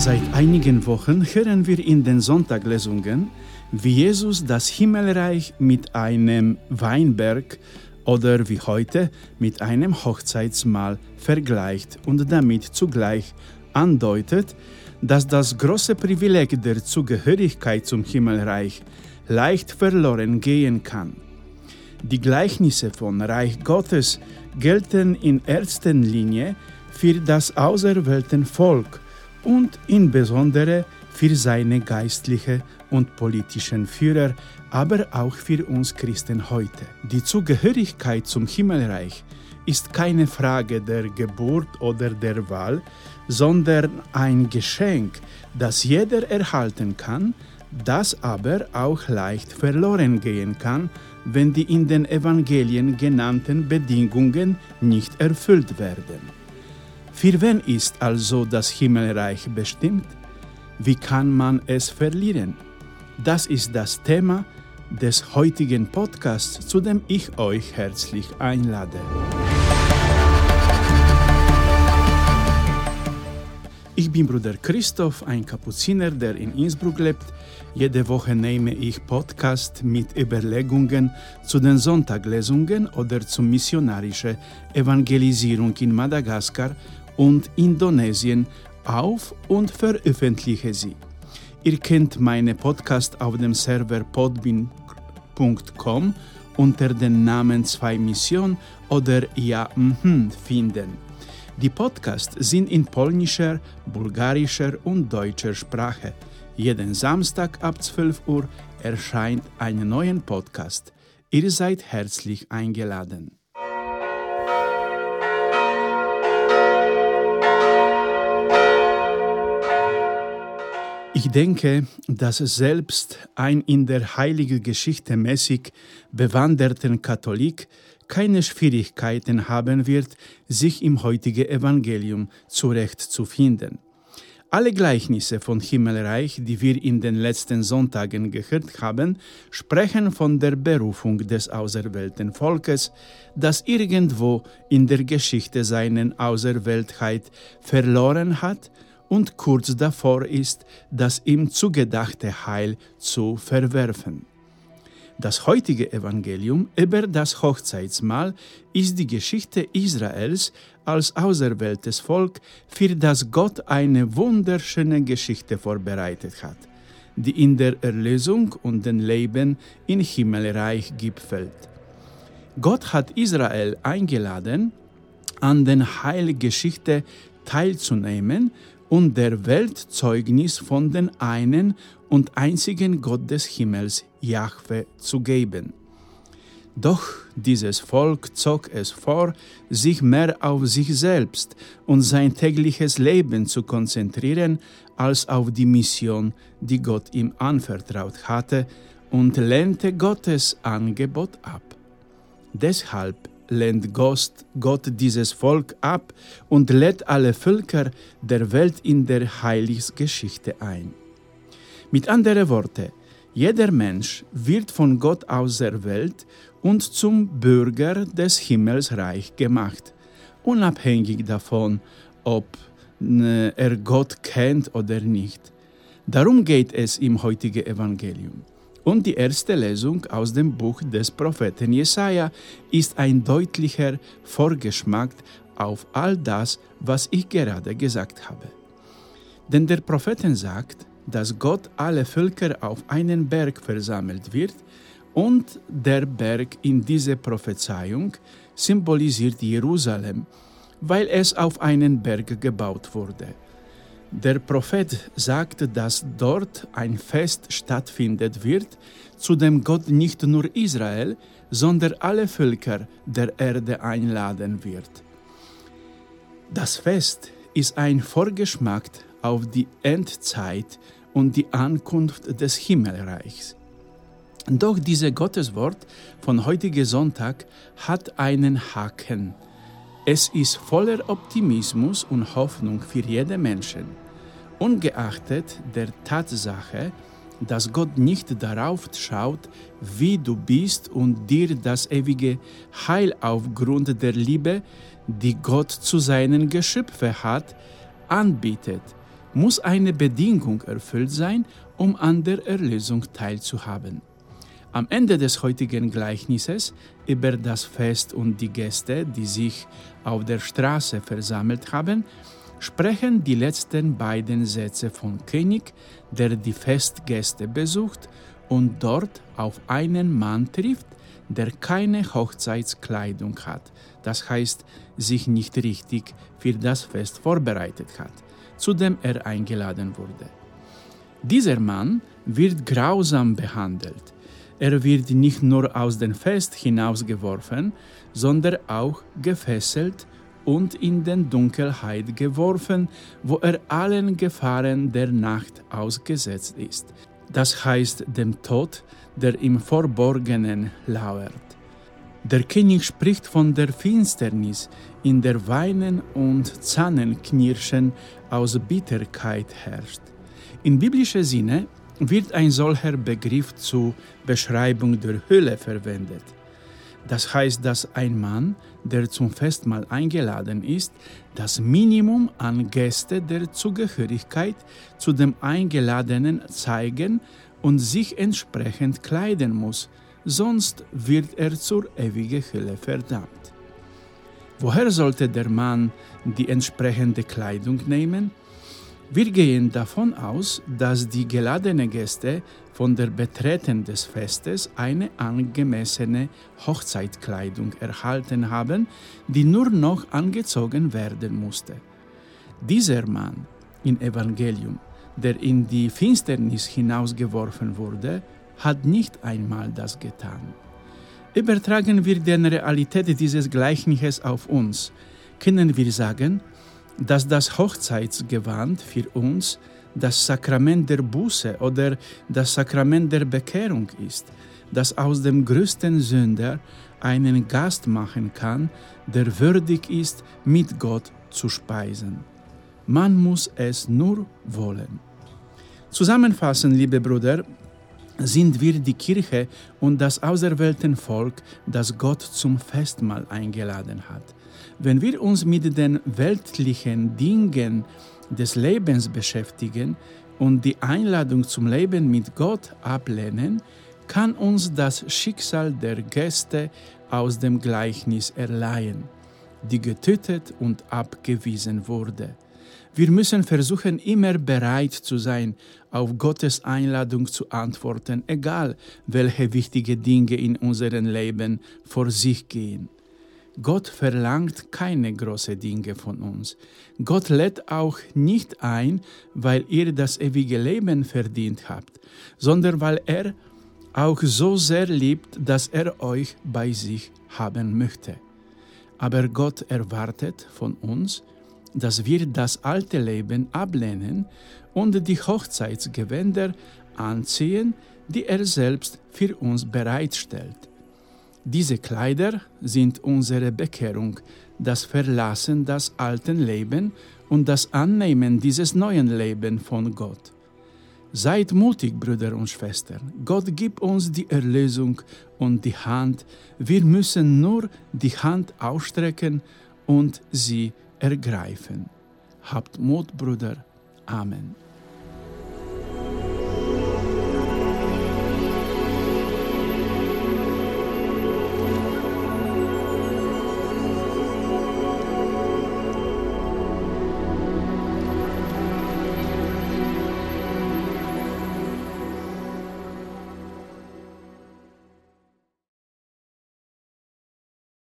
Seit einigen Wochen hören wir in den Sonntaglesungen, wie Jesus das Himmelreich mit einem Weinberg oder wie heute mit einem Hochzeitsmahl vergleicht und damit zugleich andeutet, dass das große Privileg der Zugehörigkeit zum Himmelreich leicht verloren gehen kann. Die Gleichnisse von Reich Gottes gelten in erster Linie für das auserwählte Volk und insbesondere für seine geistlichen und politischen Führer, aber auch für uns Christen heute. Die Zugehörigkeit zum Himmelreich ist keine Frage der Geburt oder der Wahl, sondern ein Geschenk, das jeder erhalten kann, das aber auch leicht verloren gehen kann, wenn die in den Evangelien genannten Bedingungen nicht erfüllt werden. Für wen ist also das Himmelreich bestimmt? Wie kann man es verlieren? Das ist das Thema des heutigen Podcasts, zu dem ich euch herzlich einlade. Ich bin Bruder Christoph, ein Kapuziner, der in Innsbruck lebt. Jede Woche nehme ich Podcast mit Überlegungen zu den Sonntaglesungen oder zur missionarischen Evangelisierung in Madagaskar und Indonesien auf und veröffentliche sie. Ihr könnt meine Podcast auf dem Server podbean.com unter dem Namen 2 Mission oder Ja finden. Die Podcasts sind in polnischer, bulgarischer und deutscher Sprache. Jeden Samstag ab 12 Uhr erscheint ein neuer Podcast. Ihr seid herzlich eingeladen. Ich denke, dass selbst ein in der heiligen Geschichte mäßig bewanderten Katholik keine Schwierigkeiten haben wird, sich im heutigen Evangelium zurechtzufinden. Alle Gleichnisse von Himmelreich, die wir in den letzten Sonntagen gehört haben, sprechen von der Berufung des auserwählten Volkes, das irgendwo in der Geschichte seine Auserwähltheit verloren hat und kurz davor ist, das ihm zugedachte Heil zu verwerfen. Das heutige Evangelium über das Hochzeitsmahl ist die Geschichte Israels als auserwähltes Volk, für das Gott eine wunderschöne Geschichte vorbereitet hat, die in der Erlösung und dem Leben im Himmelreich gipfelt. Gott hat Israel eingeladen, an der Heilgeschichte teilzunehmen und der Welt Zeugnis von dem einen und einzigen Gott des Himmels, Jahwe, zu geben. Doch dieses Volk zog es vor, sich mehr auf sich selbst und sein tägliches Leben zu konzentrieren, als auf die Mission, die Gott ihm anvertraut hatte, und lehnte Gottes Angebot ab. Deshalb lehnt Gott dieses Volk ab und lädt alle Völker der Welt in der Heilsgeschichte ein. Mit anderen Worten, jeder Mensch wird von Gott auserwählt und zum Bürger des Himmelsreichs gemacht, unabhängig davon, ob er Gott kennt oder nicht. Darum geht es im heutigen Evangelium. Und die erste Lesung aus dem Buch des Propheten Jesaja ist ein deutlicher Vorgeschmack auf all das, was ich gerade gesagt habe. Denn der Prophet sagt, dass Gott alle Völker auf einen Berg versammelt wird und der Berg in dieser Prophezeiung symbolisiert Jerusalem, weil es auf einen Berg gebaut wurde. Der Prophet sagt, dass dort ein Fest stattfinden wird, zu dem Gott nicht nur Israel, sondern alle Völker der Erde einladen wird. Das Fest ist ein Vorgeschmack auf die Endzeit und die Ankunft des Himmelreichs. Doch dieses Gotteswort von heutigen Sonntag hat einen Haken. Es ist voller Optimismus und Hoffnung für jeden Menschen, ungeachtet der Tatsache, dass Gott nicht darauf schaut, wie du bist und dir das ewige Heil aufgrund der Liebe, die Gott zu seinen Geschöpfen hat, anbietet, muss eine Bedingung erfüllt sein, um an der Erlösung teilzuhaben. Am Ende des heutigen Gleichnisses über das Fest und die Gäste, die sich auf der Straße versammelt haben, sprechen die letzten beiden Sätze vom König, der die Festgäste besucht und dort auf einen Mann trifft, der keine Hochzeitskleidung hat, das heißt, sich nicht richtig für das Fest vorbereitet hat, zu dem er eingeladen wurde. Dieser Mann wird grausam behandelt. Er wird nicht nur aus dem Fest hinausgeworfen, sondern auch gefesselt und in den Dunkelheit geworfen, wo er allen Gefahren der Nacht ausgesetzt ist. Das heißt dem Tod, der im Verborgenen lauert. Der König spricht von der Finsternis, in der Weinen und Zähneknirschen aus Bitterkeit herrscht. In biblischer Sinne wird ein solcher Begriff zur Beschreibung der Hölle verwendet. Das heißt, dass ein Mann, der zum Festmahl eingeladen ist, das Minimum an Gäste der Zugehörigkeit zu dem Eingeladenen zeigen und sich entsprechend kleiden muss, sonst wird er zur ewigen Hölle verdammt. Woher sollte der Mann die entsprechende Kleidung nehmen? Wir gehen davon aus, dass die geladenen Gäste von der Betreten des Festes eine angemessene Hochzeitkleidung erhalten haben, die nur noch angezogen werden musste. Dieser Mann im Evangelium, der in die Finsternis hinausgeworfen wurde, hat nicht einmal das getan. Übertragen wir die Realität dieses Gleichnisses auf uns, können wir sagen, dass das Hochzeitsgewand für uns das Sakrament der Buße oder das Sakrament der Bekehrung ist, das aus dem größten Sünder einen Gast machen kann, der würdig ist, mit Gott zu speisen. Man muss es nur wollen. Zusammenfassend, liebe Brüder, sind wir die Kirche und das auserwählte Volk, das Gott zum Festmahl eingeladen hat. Wenn wir uns mit den weltlichen Dingen des Lebens beschäftigen und die Einladung zum Leben mit Gott ablehnen, kann uns das Schicksal der Gäste aus dem Gleichnis erleihen, die getötet und abgewiesen wurde. Wir müssen versuchen, immer bereit zu sein, auf Gottes Einladung zu antworten, egal welche wichtige Dinge in unserem Leben vor sich gehen. Gott verlangt keine großen Dinge von uns. Gott lädt auch nicht ein, weil ihr das ewige Leben verdient habt, sondern weil er auch so sehr liebt, dass er euch bei sich haben möchte. Aber Gott erwartet von uns, dass wir das alte Leben ablehnen und die Hochzeitsgewänder anziehen, die er selbst für uns bereitstellt. Diese Kleider sind unsere Bekehrung, das Verlassen des alten Lebens und das Annehmen dieses neuen Lebens von Gott. Seid mutig, Brüder und Schwestern. Gott gibt uns die Erlösung und die Hand. Wir müssen nur die Hand ausstrecken und sie ergreifen. Habt Mut, Brüder. Amen.